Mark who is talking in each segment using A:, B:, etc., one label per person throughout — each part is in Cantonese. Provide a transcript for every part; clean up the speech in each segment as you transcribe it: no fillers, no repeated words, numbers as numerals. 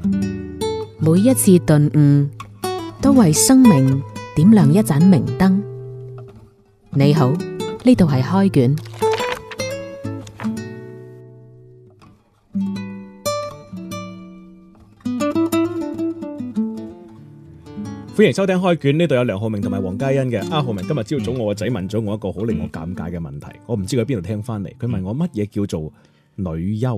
A: 每一次頓悟，都為生命點亮一盞明燈。你好，呢度係開卷。
B: 歡迎收聽開卷，呢度有梁浩明同埋黃嘉欣嘅。浩明，今日朝早我個仔問咗我一個好令我尷尬嘅問題，我唔知佢喺邊度聽翻嚟。佢問我乜嘢叫做女優？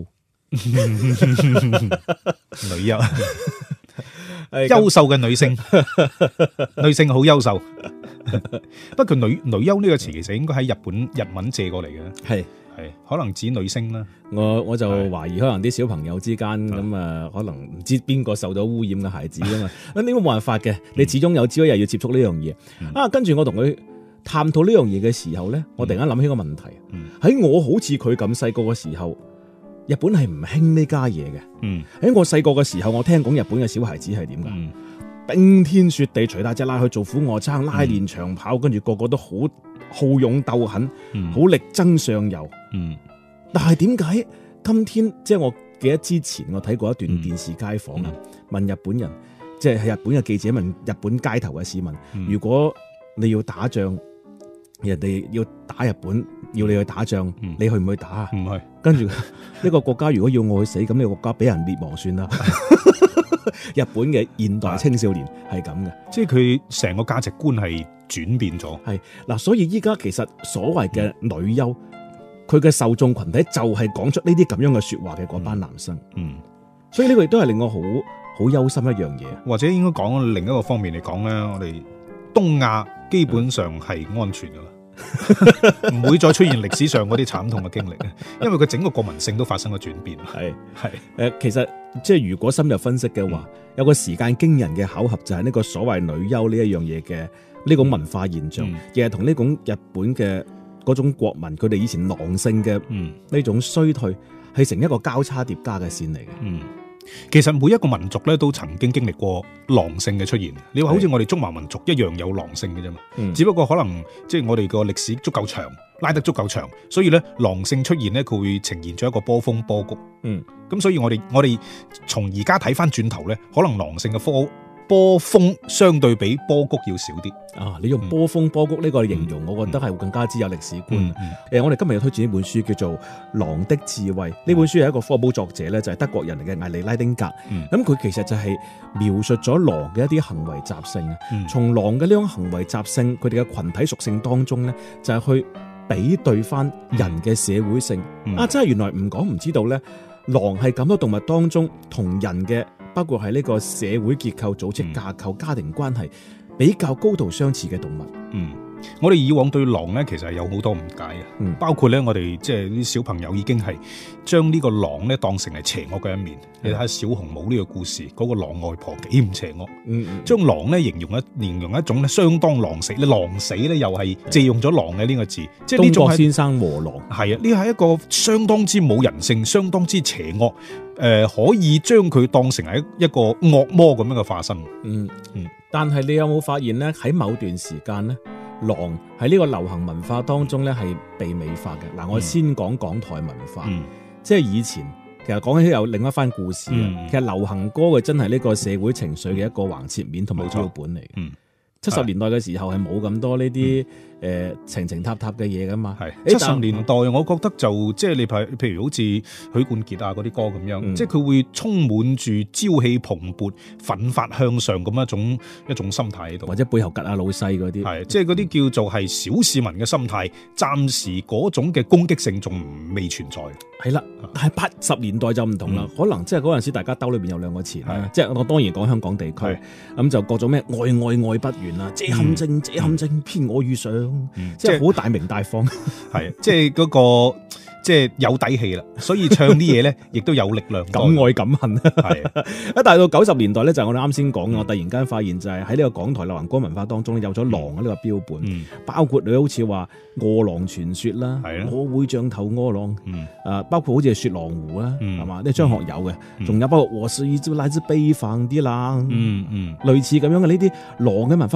C: 女優，優秀嘅女性，女性好優秀。不過女優呢個詞其實應該喺日文借過嚟嘅，係可能指女星啦。
B: 我就懷疑可能啲小朋友之間咁啊，可能唔知邊個受到污染嘅孩子噶嘛。咁呢個冇辦法嘅，你始終有朝一日要接觸呢樣嘢。跟住我同佢探討呢樣嘢嘅時候咧，我突然間諗起個問題。喺我好似佢咁細個嘅時候，日本係唔興呢家嘢嘅。喺我細個嘅時候，我聽講日本嘅小孩子係點噶？冰天雪地，除大隻拉去做俯臥撐、拉練長跑，跟住個個都好好勇鬥狠，好力爭上游。但係點解今天即係我記得之前我睇過一段電視街訪啊，問日本人，即係日本嘅記者問日本街頭嘅市民，如果你要打仗，人哋要打日本，要你去打仗，你去唔去打啊？唔去。跟住一個國家如果要我去死，咁呢個國家俾人滅亡算啦。日本嘅現代青少年係咁嘅，
C: 即係佢成個價值觀係轉變咗。
B: 係嗱，所以依家其實所謂嘅女優，佢嘅受眾群體就係講出呢啲咁樣嘅說話嘅嗰班男生。所以呢個亦都係令我好憂心一樣嘢。
C: 或者應該講另一個方面嚟講咧，我哋東亞基本上係安全噶啦。唔會再出現歷史上嗰啲慘痛嘅經歷，因為佢整個國民性都發生咗轉變。
B: 其實即係如果深入分析嘅話，有個時間驚人嘅巧合就係呢個所謂女優呢一樣嘢嘅呢種文化現象，亦係同呢種日本嘅嗰種國民佢哋以前狼性嘅呢種衰退係成一個交叉疊加嘅線嚟嘅。
C: 其實每一個民族咧都曾經經歷過狼性嘅出現。你話好似我哋中華民族一樣有狼性嘅啫嘛，只不過可能即係我哋個歷史足夠長，拉得足夠長，所以咧狼性出現咧佢會呈現咗一個波峰波谷。咁所以我哋從而家睇翻轉頭咧，可能狼性嘅波峰相對比波谷要少啲。
B: 你用波峰波谷呢個形容，我覺得係會更加之有歷史觀。我哋今日要推薦呢本書叫做《狼的智慧》。呢本書係一個科普作者咧，就係德國人嚟嘅艾利拉丁格。咁佢其實就係描述咗狼嘅一啲行為習性。從狼嘅呢種行為習性，佢哋嘅群體屬性當中咧，就係去比對翻人嘅社會性。真係原來唔講唔知道咧，狼係咁多動物當中同人嘅，包括係呢個社會結構、組織架構、家庭關係比較高度相似嘅動物。
C: 我哋以往對狼咧，其實係有好多誤解嘅，包括咧我哋即係啲小朋友已經係將呢個狼咧當成係邪惡嘅一面。你睇下小紅帽呢個故事，嗰個狼外婆幾唔邪惡，將狼咧形容一種咧相當狼死。你狼死咧又係借用咗狼嘅呢個字，即係呢種
B: 東郭先生和狼。
C: 係啊，呢係一個相當之冇人性、相當之邪惡。可以將佢當成係一個惡魔咁樣嘅化身。
B: 但係你有冇發現咧？喺某段時間咧，狼喺呢個流行文化當中咧係被美化嘅。嗱，我先講港台文化，即係以前其實講起有另一番故事。其實流行歌嘅真係呢個社會情緒嘅一個橫切面同埋標本嚟嘅。70年代嘅時候係冇咁多呢啲情塔嘅嘢噶嘛。
C: 係70年代，我覺得就即係你譬如好似許冠傑啊嗰啲歌咁樣，即係佢會充滿住朝氣蓬勃、奮發向上咁一種心態喺度，
B: 或者背後吉下老細嗰啲，
C: 係即係嗰啲叫做係小市民嘅心態，暫時嗰種嘅攻擊性仲未存在。
B: 係啦，但係80年代就唔同啦，可能即係嗰陣時大家兜裏邊有兩個詞啦，即係我當然講香港地區，咁就各種咩愛不完啊，這陷阱偏我遇上，即係好大鳴大放，
C: 係即係嗰個即係有底氣啦，所以唱啲嘢咧亦都有力量，
B: 敢愛敢恨。係一大到90年代咧，就係我哋啱先講嘅，我突然間發現就係喺呢個港台流行歌文化當中有咗狼嘅呢個標本，包括你好似話餓狼傳說啦，我會像頭餓狼，包括好似係雪狼湖啦，係嘛？呢張學友嘅，仲有包括我是一隻來自北方的狼，類似咁樣嘅呢啲狼嘅文化，佢係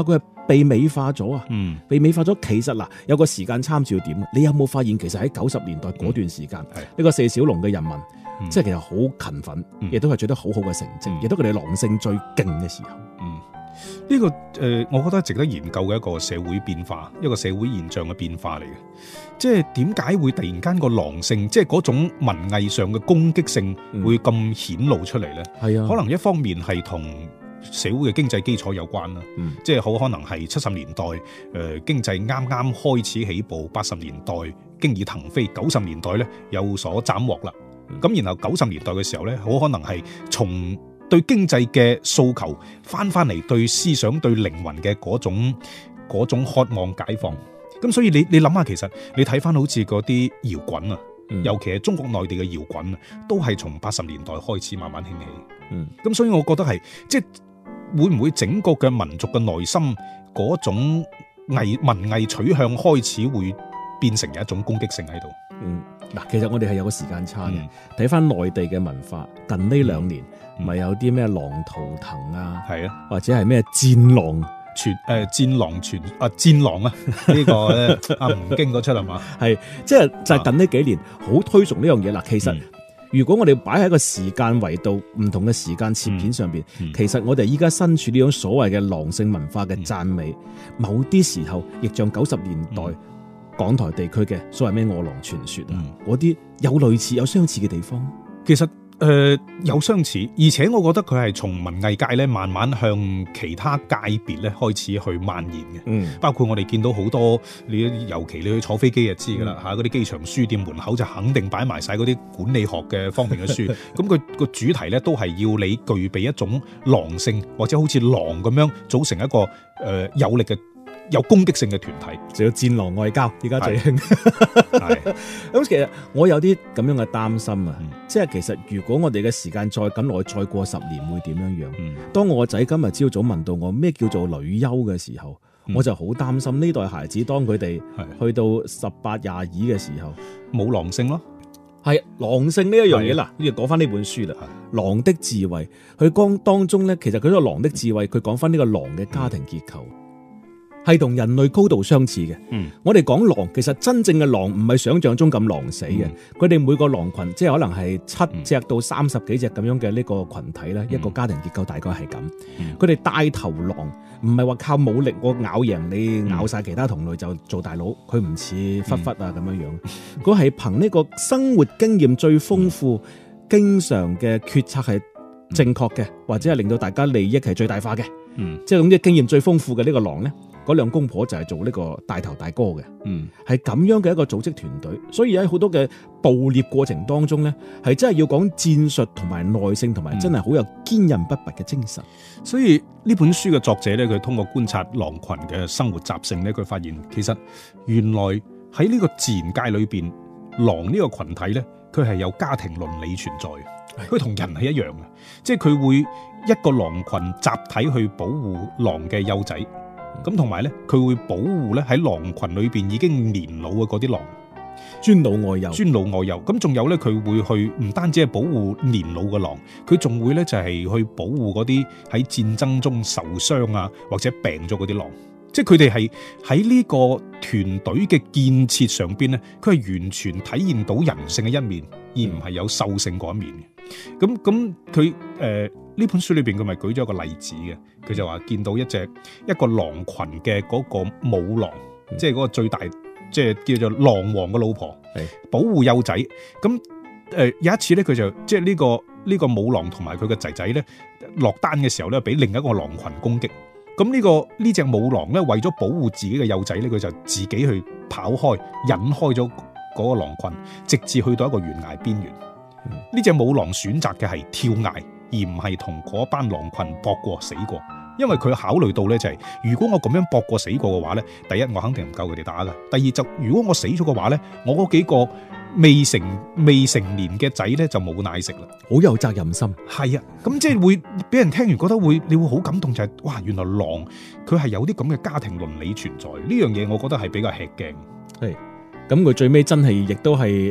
B: 被美化咗啊！
C: 嗯，
B: 被美化咗，其實嗱有個時間參照點，你有冇發現其實喺90年代嗰段時間，呢個四小龍嘅人民，即係其實好勤奮，亦都係取得好好嘅成績，亦都佢哋狼性最勁嘅時候。
C: 呢個我覺得值得研究嘅一個社會變化，一個社會現象嘅變化嚟嘅。即係點解會突然間個狼性，即係嗰種文藝上嘅攻擊性會咁顯露出嚟呢？係啊，可能一方面係同社會嘅經濟基礎有關啦。即係好可能係70年代經濟啱啱開始起步，80年代經已騰飛，90年代呢有所斬獲啦。咁然後90年代嘅時候呢，好可能係從對經濟嘅訴求翻嚟對思想對靈魂嘅嗰種渴望解放。咁所以你諗下，其實你睇翻好似嗰啲搖滾啊，尤其係中國內地嘅搖滾啊，都係從80年代開始慢慢興起。咁所以我覺得係即係會唔會整個嘅民族嘅內心嗰種文藝取向開始會變成有一種攻擊性喺度？
B: 嗱，其實我哋係有個時間差嘅。睇翻內地嘅文化，近呢2年咪有啲咩狼圖騰啊，係啊，或者係咩戰狼
C: 戰狼啊，呢個咧阿吳京嗰出係嘛？
B: 係即係就係近呢幾年好推崇呢樣嘢啦。其實如果我哋擺喺一個時間維度唔同嘅時間切片上邊，其實我哋依家身處呢種所謂嘅狼性文化嘅讚美，某啲時候亦像90年代港台地區嘅所謂咩餓狼傳說啊，嗰啲有類似有相似嘅地方。
C: 其實有相似，而且我覺得佢係從文藝界咧慢慢向其他界別咧開始去蔓延嘅。包括我哋見到好多，尤其你去坐飛機就知噶啦嚇，嗰啲機場書店門口就肯定擺埋晒嗰啲管理學嘅方面嘅書。咁佢個主題咧都係要你具備一種狼性，或者好似狼咁樣組成一個有力嘅有攻擊性嘅團體，
B: 就要戰狼外交，而家最興。咁其實我有啲咁樣嘅擔心啊，即係其實如果我哋嘅時間再咁耐，再過10年會點樣樣？當我個仔今日朝早問到我咩叫做女優嘅時候，我就好擔心呢代孩子當佢哋去到18、22嘅時候，
C: 冇狼性咯。
B: 係狼性呢一樣嘢啦，呢就講翻呢本書啦，《狼的智慧》。佢當中咧，其實佢呢個狼的智慧，佢講翻呢個狼嘅家庭結構。係同人類高度相似嘅。我哋講狼，其實真正嘅狼唔係想象中咁狼死嘅。佢哋每個狼群，即係可能係7隻到30幾隻咁樣嘅呢個群體咧，一個家庭結構大概係咁。佢哋帶頭狼唔係話靠武力我咬贏你，咬晒其他同類就做大佬。佢唔似狒狒啊咁樣樣。佢係憑呢個生活經驗最豐富，經常嘅決策係正確嘅，或者係令到大家利益係最大化嘅。即係總之經驗最豐富嘅呢個狼咧。嗰兩公婆就係做呢個大頭大哥嘅，係咁樣嘅一個組織團隊，所以喺好多嘅捕獵過程當中咧，係真係要講戰術同埋耐性，同埋真係好有堅韌不拔嘅精神。
C: 所以呢本書嘅作者咧，佢通過觀察狼群嘅生活習性咧，佢發現其實原來喺呢個自然界裏邊，狼呢個群體咧，佢係有家庭倫理存在嘅，佢同人係一樣嘅，即係佢會一個狼群集體去保護狼嘅幼仔。咁同埋咧，佢會保護咧喺狼群裏邊已經年老嘅嗰啲狼，
B: 尊老愛幼。
C: 咁仲有咧，佢會去唔單止係保護年老嘅狼，佢仲會咧就係去保護嗰啲喺戰爭中受傷啊或者病咗嗰啲狼。即係佢哋係喺呢個團隊嘅建設上邊咧，佢係完全體現到人性嘅一面，而唔係有獸性嗰一面嘅。咁佢呢本書裏邊佢咪舉咗一個例子嘅，佢就話見到一個狼群嘅嗰個母狼，即係嗰個最大，即係叫做狼王嘅老婆，保護幼仔。咁有一次咧，佢就即係呢個母狼同埋佢嘅仔仔咧落單嘅時候咧，俾另一個狼群攻擊。咁呢隻母狼咧，為咗保護自己嘅幼仔咧，佢就自己去跑開，引開咗嗰個狼群，直至去到一個懸崖邊緣。呢隻母狼選擇嘅係跳崖，而唔係同嗰班狼群搏過死過，因為佢考慮到咧就係，如果我咁樣搏過死過嘅話咧，第一我肯定唔夠佢哋打噶，第二就如果我死咗嘅話咧，我嗰幾個未成年嘅仔咧就冇奶食啦，
B: 好有責任心。
C: 係啊，咁即係會俾人聽完覺得你會好感動，就係哇，原來狼佢係有啲咁嘅家庭倫理存在，呢樣嘢我覺得係比較吃驚。
B: 係，咁佢最尾真係亦都係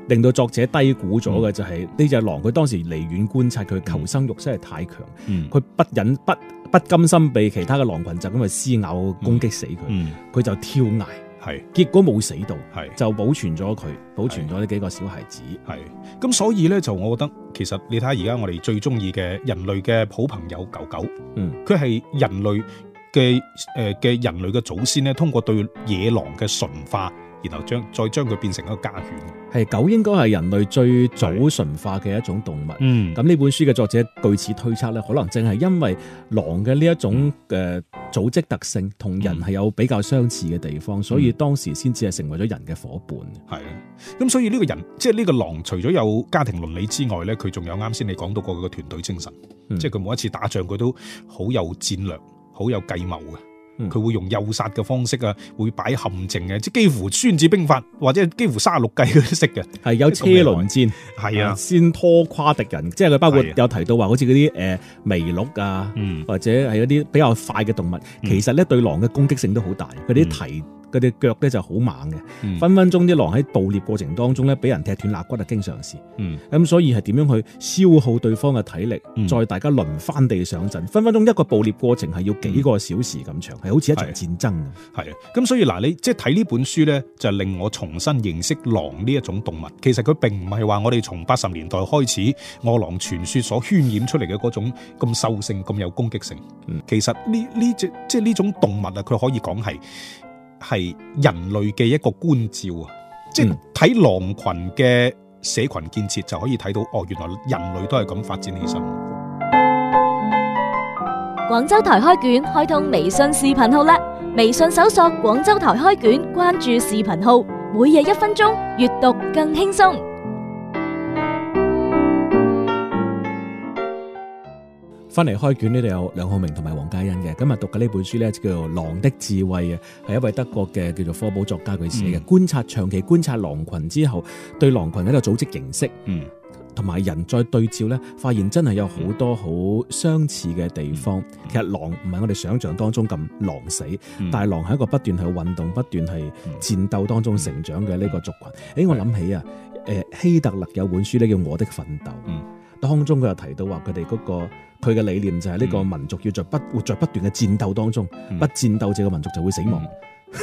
B: 令到作者低估咗嘅就係呢隻狼，佢當時離遠觀察佢求生欲真係太強，佢不甘心被其他嘅狼群就咁去撕咬攻擊死佢，佢就跳崖。
C: 係，
B: 結果冇死到，
C: 係
B: 就保存咗佢，保存咗呢幾個小孩子。
C: 係，咁所以咧就我覺得，其實你睇下而家我哋最中意嘅人類嘅好朋友狗狗，佢係人類嘅人類嘅祖先咧，通過對野狼嘅馴化，然後再將佢變成一個家犬。
B: 係，狗應該係人類最早馴化嘅一種動物。咁呢本書嘅作者據此推測咧，可能正係因為狼嘅呢一種組織特性同人係有比較相似嘅地方，所以當時先至係成為咗人嘅伙伴。
C: 係，咁所以呢個人，即係呢個狼，除咗有家庭倫理之外咧，佢仲有啱先你講到過佢嘅團隊精神，即係佢每一次打仗佢都好有戰略，好有計謀嘅。佢會用誘殺嘅方式啊，會擺陷阱嘅，即係幾乎孫子兵法或者幾乎36計佢都識嘅。係有車輪戰，係啊，先拖垮敵人，即係佢包括有提到話，好似嗰啲麋鹿啊，或者係一啲比較快嘅動物，其實咧對狼嘅攻擊性都好大，佢啲蹄。佢哋腳咧就好猛嘅，分分鐘啲狼喺捕獵過程當中咧，俾人踢斷肋骨啊，經常事。咁所以係點樣去消耗對方嘅體力，再大家輪番地上陣，分分鐘一個捕獵過程係要幾個小時咁長，係好似一場戰爭咁。係啊，咁所以嗱，你即係睇呢本書咧，就令我重新認識狼呢一種動物。其實佢並唔係話我哋從80年代開始餓狼傳說所渲染出嚟嘅嗰種咁獸性、咁有攻擊性。其實呢隻即係呢種動物啊，佢可以講係人類嘅一個觀照啊，即係睇狼群嘅社群建設就可以睇到，哦，原來人類都係咁發展起身。
D: 廣州台開卷開通微信視頻號啦，微信搜索廣州台開卷，關注視頻號，每日1分鐘，閱讀更輕鬆。
B: 翻嚟開卷呢度有梁浩明同埋黃嘉欣嘅，今日讀嘅呢本書咧就叫做《狼的智慧》啊，係一位德國嘅叫做科普作家佢寫嘅，長期觀察狼群之後，對狼群嘅一個組織形式，同埋人再對照咧，發現真係有好多好相似嘅地方。其實狼唔係我哋想象當中咁狼死，但係狼係一個不斷去運動、不斷係戰鬥當中成長嘅呢個族群。我諗起啊，希特勒有本書咧叫《我的奮鬥》，當中佢又提到話佢哋嗰個。佢嘅理念就係呢個民族要活在不斷嘅戰鬥當中，不戰鬥這個民族就會死亡。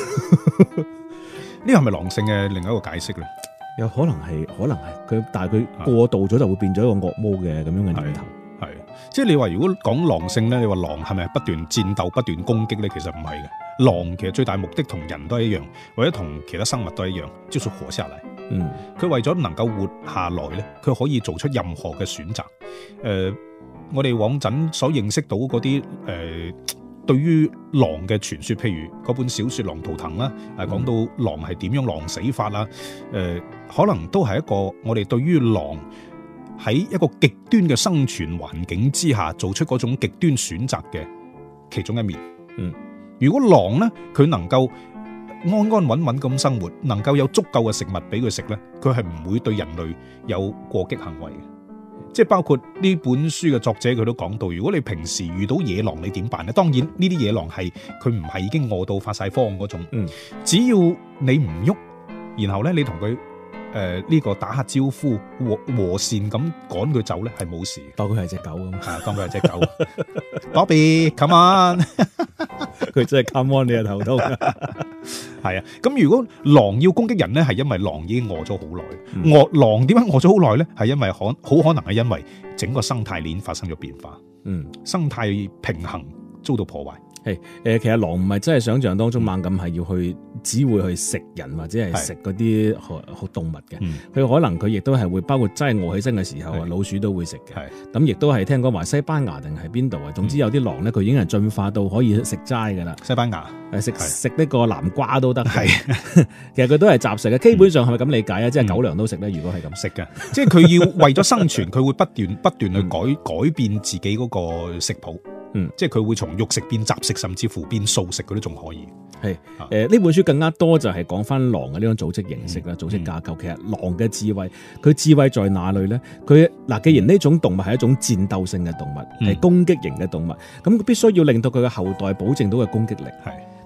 B: 呢個係咪狼性嘅另一個解釋咧？有可能係佢，但係佢過度咗就會變咗一個惡魔嘅咁樣嘅念頭。係，即係你話如果講狼性咧，你話狼係咪不斷戰鬥、不斷攻擊咧？其實唔係嘅。狼其實最大目的同人都係一樣，或者同其他生物都係一樣，就是活下來。佢為咗能夠活下來咧，佢可以做出任何嘅選擇。我哋往陣所認識到嗰啲對於狼嘅傳說，譬如嗰本小說《狼圖騰》啦，講到狼係點樣狼死法啦，可能都係一個我哋對於狼喺一個極端嘅生存環境之下做出嗰種極端選擇嘅其中一面。如果狼呢，佢能夠安安穩穩咁生活，能夠有足夠嘅食物俾佢食呢，佢係唔會對人類有過激行為嘅。即係包括呢本書嘅作者佢都講到，如果你平時遇到野狼你點辦呢？當然呢啲野狼係佢唔係已經餓到發晒慌嗰種，只要你唔喐，然後咧你同佢呢個打下招呼，和善咁趕佢走咧，係冇事。當佢係隻狗咁，係當佢係隻狗。Bobby，come on，佢真係 come on 你嘅頭痛。係啊，咁如果狼要攻擊人咧，係因為狼已經餓咗好耐。狼點解餓咗好耐咧？係因為好可能係因為整個生態鏈發生咗變化。生態平衡遭到破壞。係其實狼唔係真係想象當中猛咁係要去，只會去食人或者係食嗰啲動物嘅。佢可能佢亦都係會包括真係餓起身嘅時候啊，老鼠都會食嘅。咁亦都係聽講話西班牙定係邊度啊？總之有啲狼咧，佢已經係進化到可以食齋噶啦。西班牙食呢個南瓜都得。係其實佢都係雜食嘅，基本上係咪咁理解啊？即係狗糧都食咧？如果係咁食嘅，即係佢要為咗生存，佢會不斷去改變自己嗰個食譜。即係佢會從肉食變雜食，甚至乎變素食，佢都仲可以。係呢本書更加多就係講翻狼嘅呢種組織形式啦，組織架構。其實狼嘅智慧，佢智慧在哪裏咧？佢既然呢種動物係一種戰鬥性嘅動物，係攻擊型嘅動物，咁必須要令到佢嘅後代保證到嘅攻擊力。係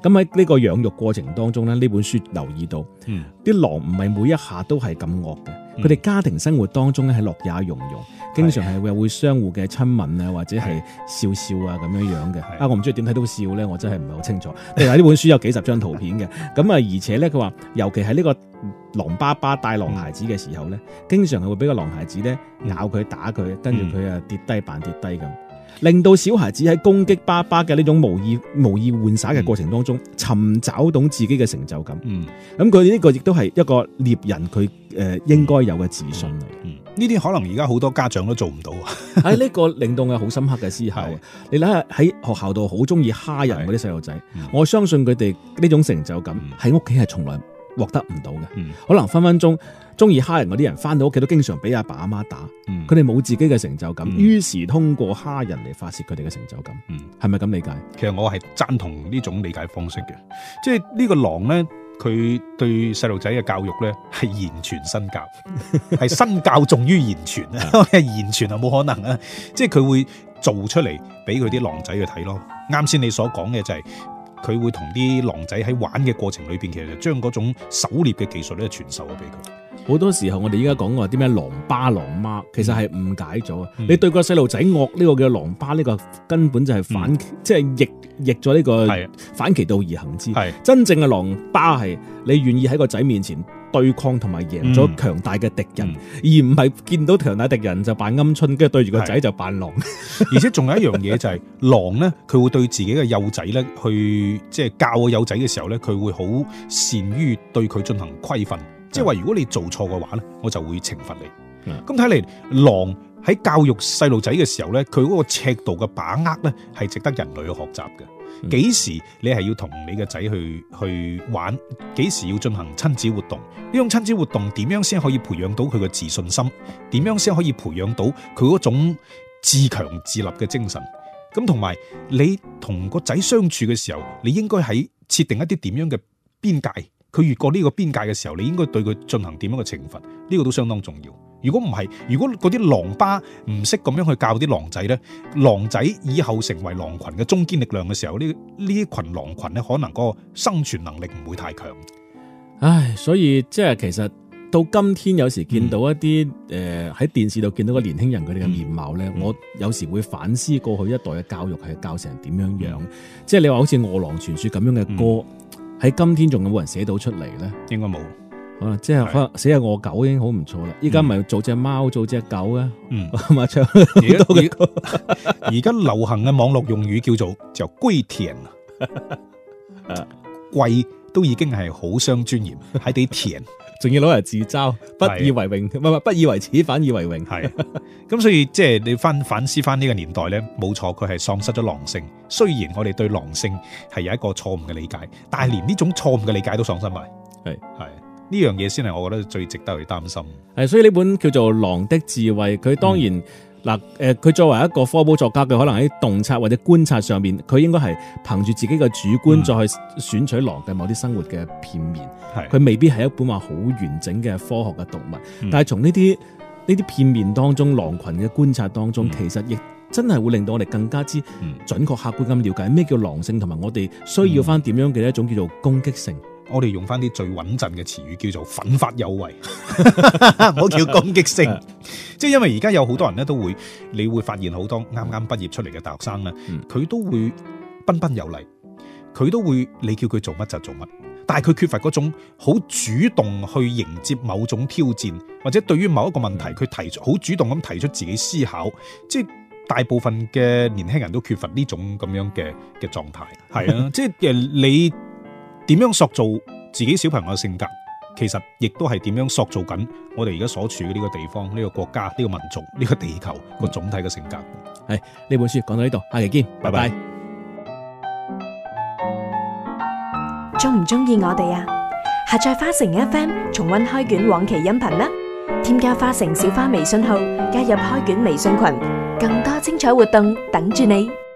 B: 咁喺呢個養育過程當中咧，呢本書留意到，啲狼唔係每一下都係咁惡嘅，佢哋家庭生活當中咧係樂也融融，經常係會相互嘅親吻啊，或者係笑笑啊咁樣樣嘅。我唔知點睇到笑咧，我真係唔係好清楚。另外呢本書有幾十張圖片嘅，咁而且咧佢話，尤其係呢個狼爸爸帶狼孩子嘅時候咧，經常係會俾個狼孩子咧咬佢打佢，跟住佢啊跌低扮跌低咁。令到小孩子喺攻擊爸爸嘅呢種無意玩耍嘅過程當中，尋找到自己嘅成就感。咁佢呢個亦都係一個獵人佢應該有嘅自信嚟。
C: 呢啲可能而家好多家長都做唔到。
B: 喺呢個令到我好深刻嘅思考。你睇下喺學校度好中意蝦人嗰啲細路仔，我相信佢哋呢種成就感喺屋企係從來獲得唔到嘅。可能分分鐘中意蝦人嗰啲人翻到屋企都經常俾阿爸阿媽打，佢哋冇自己嘅成就感，於是通過蝦人嚟發泄佢哋嘅成就感。係咪咁理解？
C: 其實我係贊同呢種理解方式嘅，即係呢個狼咧，佢對細路仔嘅教育咧係言傳身教，係身教重於言傳啊！言傳啊冇可能啊，即係佢會做出嚟俾佢啲狼仔去睇咯。啱先你所講嘅就係，佢會同啲狼仔喺玩嘅過程裏邊，其實就將嗰種狩獵嘅技術咧傳授咗俾佢。
B: 好多時候我哋依家講話啲咩狼爸狼媽，其實係誤解咗。你對個細路仔惡，呢個叫狼爸，呢個根本就係反，即係逆咗呢個反其道而行之。真正嘅狼爸係你願意喺個仔面前對抗同埋贏咗強大嘅敵人，而唔係見到強大敵人就扮鵪鶉，跟住對住個仔就扮狼。
C: 而且仲有一樣嘢就係狼咧，佢會對自己嘅幼仔咧，去即係教個幼仔嘅時候咧，佢會好善於對佢進行規訓。即係話，如果你做錯嘅話咧，我就會懲罰你。咁睇嚟，狼喺教育細路仔嘅時候咧，佢嗰個尺度嘅把握咧，係值得人類去學習嘅。幾時你係要同你嘅仔去玩？幾時要進行親子活動？呢種親子活動點樣先可以培養到佢嘅自信心？點樣先可以培養到佢嗰種自強自立嘅精神？咁同埋你同個仔相處嘅時候，你應該喺設定一啲點樣嘅邊界？佢越過呢個邊界嘅時候，你應該對佢進行點樣嘅懲罰？呢個都相當重要。如果唔係，如果嗰啲狼爸唔識咁樣去教啲狼仔咧，狼仔以後成為狼群嘅中堅力量嘅時候，呢群狼群咧，可能個生存能力唔會太強。
B: 唉，所以即係其實到今天有時見到一啲喺電視度見到個年輕人佢哋嘅面貌咧，我有時會反思過去一代嘅教育係教成點樣樣。即係你話好似《餓狼傳說》咁樣嘅歌。喺今天仲有冇人寫到出嚟咧？應該冇，可能即係可能寫下餓狗已經好唔錯啦。依家咪做隻貓做隻狗啊，嘛唱好多嘅歌。
C: 而家流行嘅網絡用語叫做歸田啊，歸都已經係好傷尊嚴，喺啲田，
B: 仲要攞嚟自嘲，不以為榮，唔係不以為恥，反以為榮。
C: 係咁，所以即係你反思翻呢個年代咧，冇錯，佢係喪失咗狼性。雖然我哋對狼性係有一個錯誤嘅理解，但係連呢種錯誤嘅理解都喪失埋。係呢樣嘢先係我覺得最值得去擔心。
B: 係，所以呢本叫做《狼的智慧》，佢當然嗱佢作為一個科普作家，佢可能喺洞察或者觀察上面，佢應該係憑住自己嘅主觀再去選取狼嘅某啲生活嘅片面。佢未必係一本話好完整嘅科學嘅讀物，但係從呢啲片面當中，狼群嘅觀察當中，其實亦真係會令到我哋更加之準確客觀咁了解咩叫狼性，同埋我哋需要翻點樣嘅一種叫做攻擊性。
C: 我哋用翻啲最穩陣嘅詞語，叫做奮發有為，唔好叫攻擊性。即係因為而家有好多人咧，你會發現好多啱啱畢業出嚟嘅大學生咧，佢都會彬彬有禮，佢都會你叫佢做乜就做乜，但係佢缺乏嗰種好主動去迎接某種挑戰，或者對於某一個問題佢好主動咁提出自己思考，即係大部分嘅年輕人都缺乏呢種咁樣嘅狀態。係啊，即係你點樣塑造自己小朋友嘅性格，其實亦都係點樣塑造緊我哋而家所處嘅呢個地方、呢個國家、呢個民族、呢個地球個總體嘅性格。
B: 係，呢本書講到呢度，下期見，拜拜。
D: 中唔中意我哋啊？下載花城 FM 重溫開卷往期音頻啦！添加花城小花微信號，加入開卷微信群，更多精彩活動等住你。